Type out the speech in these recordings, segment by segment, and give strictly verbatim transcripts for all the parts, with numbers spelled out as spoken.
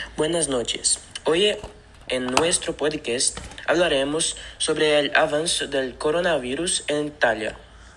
Buenas noches. Hoy en nuestro podcast hablaremos sobre el avance del coronavirus en Italia.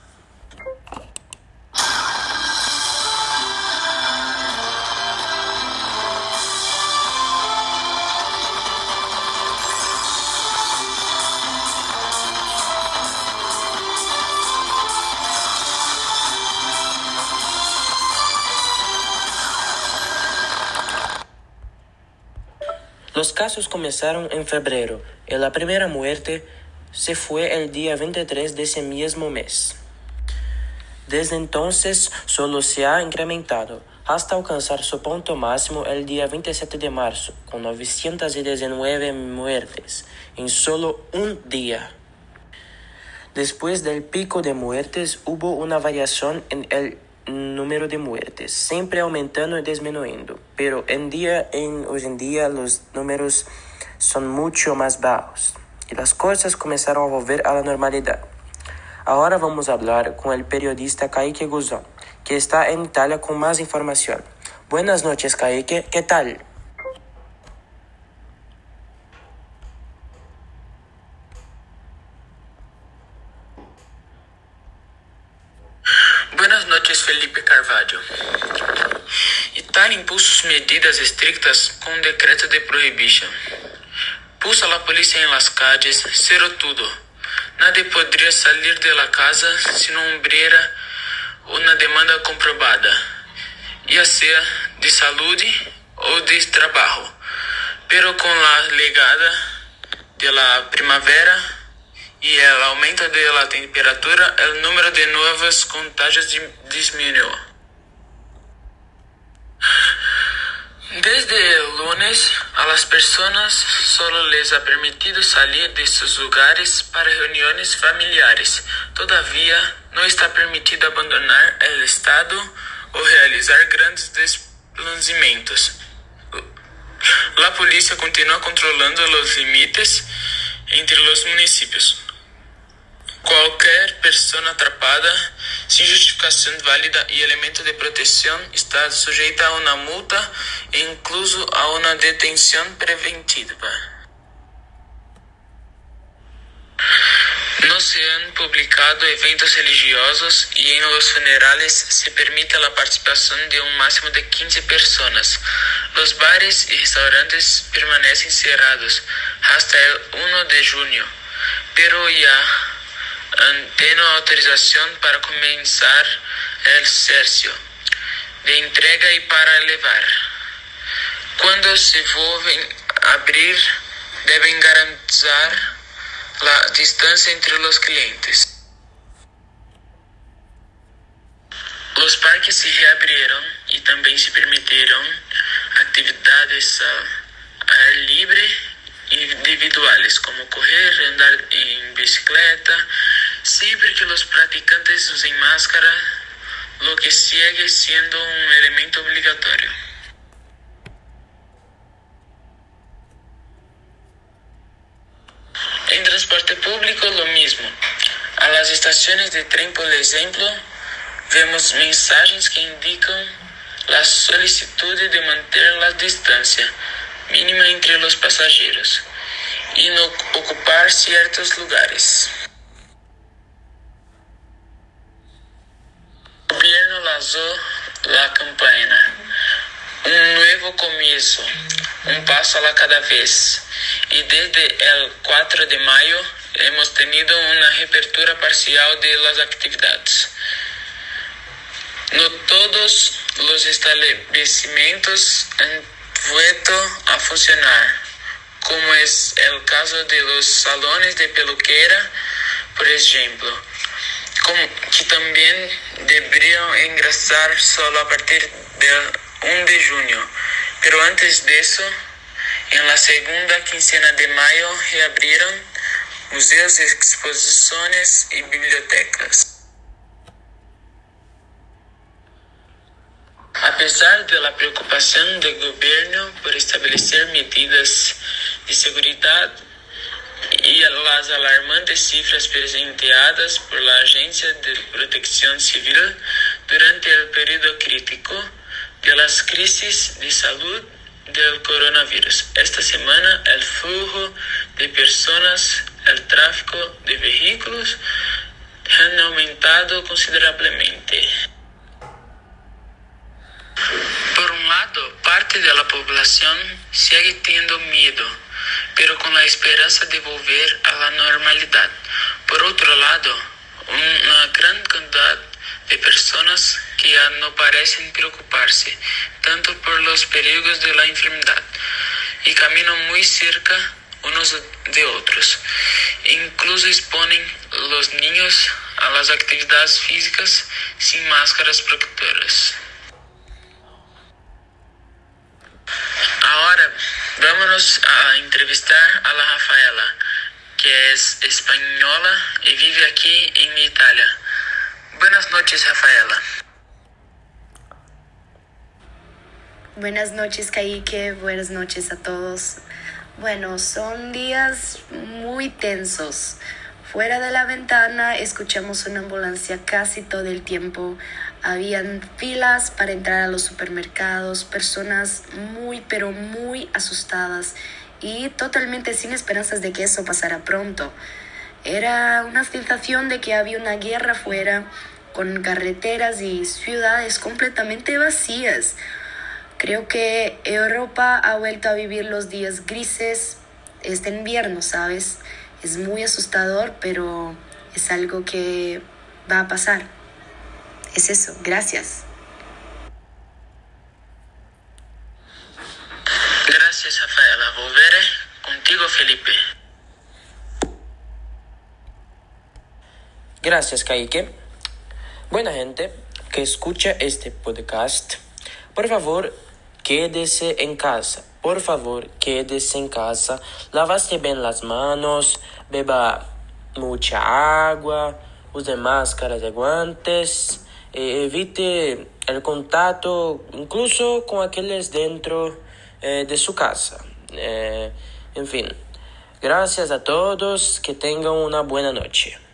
Los casos comenzaron en febrero y la primera muerte se fue el día veintitrés de ese mismo mes. Desde entonces solo se ha incrementado hasta alcanzar su punto máximo el día veintisiete de marzo, con novecientas diecinueve muertes en solo un día. Después del pico de muertes hubo una variación en el número de muertes, siempre aumentando y disminuyendo, pero en día, en, hoy en día los números son mucho más bajos y las cosas comenzaron a volver a la normalidad. Ahora vamos a hablar con el periodista Kaique Guzón, que está en Italia con más información. Buenas noches, Kaique, ¿qué tal? Buenas noches, Felipe Carvalho. Itália impulsa medidas estrictas com um decreto de prohibição. Puso a la policía en las calles, cerró todo. Nadie podría salir de la casa si no hubiera una demanda comprobada, ya sea de salud o de trabajo. Pero con la llegada de la primavera y el aumento de la temperatura, el número de nuevos contagios disminuyó. Desde el lunes, a las personas solo les ha permitido salir de sus lugares para reuniones familiares. Todavía no está permitido abandonar el estado o realizar grandes desplazamientos. La policía continúa controlando los límites entre los municipios. Cualquier persona atrapada sin justificación válida y elemento de protección está sujeta a una multa e incluso a una detención preventiva. No se han publicado eventos religiosos y en los funerales se permite la participación de un máximo de quince personas. Los bares y restaurantes permanecen cerrados hasta el primero de junio, pero ya tiene autorización para comenzar el servicio de entrega y para elevar. Cuando se vuelven a abrir, deben garantizar la distancia entre los clientes. Los parques se reabrieron y también se permitieron actividades al aire libre individuales como correr, andar en bicicleta, siempre que los practicantes usen máscara, lo que sigue siendo un elemento obligatorio. En transporte público lo mismo. A las estaciones de tren, por ejemplo, vemos mensajes que indican la solicitud de mantener la distancia mínima entre los pasajeros y no ocupar ciertos lugares. El gobierno lanzó la campaña Un nuevo comienzo, un paso a la cada vez, y desde el cuatro de mayo hemos tenido una reapertura parcial de las actividades. No todos los establecimientos han vuelto a funcionar, como es el caso de los salones de peluquera, por ejemplo, como que también deberían ingresar solo a partir del primero de junio, pero antes de eso, en la segunda quincena de mayo reabrieron museos, exposiciones y bibliotecas. A pesar de la preocupación del gobierno por establecer medidas de seguridad y las alarmantes cifras presenteadas por la Agencia de Protección Civil durante el periodo crítico de las crisis de salud del coronavirus. Esta semana el flujo de personas, el tráfico de vehículos han aumentado considerablemente. Por un lado, parte de la población sigue teniendo miedo, pero con la esperanza de volver a la normalidad. Por otro lado, una gran cantidad de personas que ya no parecen preocuparse tanto por los peligros de la enfermedad y caminan muy cerca unos de otros. Incluso exponen los niños a las actividades físicas sin máscaras protectoras. Ahora vámonos a entrevistar a la Rafaela, que es española y vive aquí en Italia. Buenas noches, Rafaela. Buenas noches, Kaique. Buenas noches a todos. Bueno, son días muy tensos. Fuera de la ventana escuchamos una ambulancia casi todo el tiempo. Habían filas para entrar a los supermercados, personas muy pero muy asustadas y totalmente sin esperanzas de que eso pasara pronto. Era una sensación de que había una guerra afuera, con carreteras y ciudades completamente vacías. Creo que Europa ha vuelto a vivir los días grises este invierno, ¿sabes? Es muy asustador, pero es algo que va a pasar. Es eso, gracias. Gracias, Rafaela. Volveré contigo, Felipe. Gracias, Kaique. Buena gente que escucha este podcast, por favor, quédese en casa. Por favor, quédese en casa. Lávase bien las manos, beba mucha agua, use máscaras y guantes. Eh, evite el contacto incluso con aquellos dentro eh, de su casa. Eh, en fin, gracias a todos, que tengan una buena noche.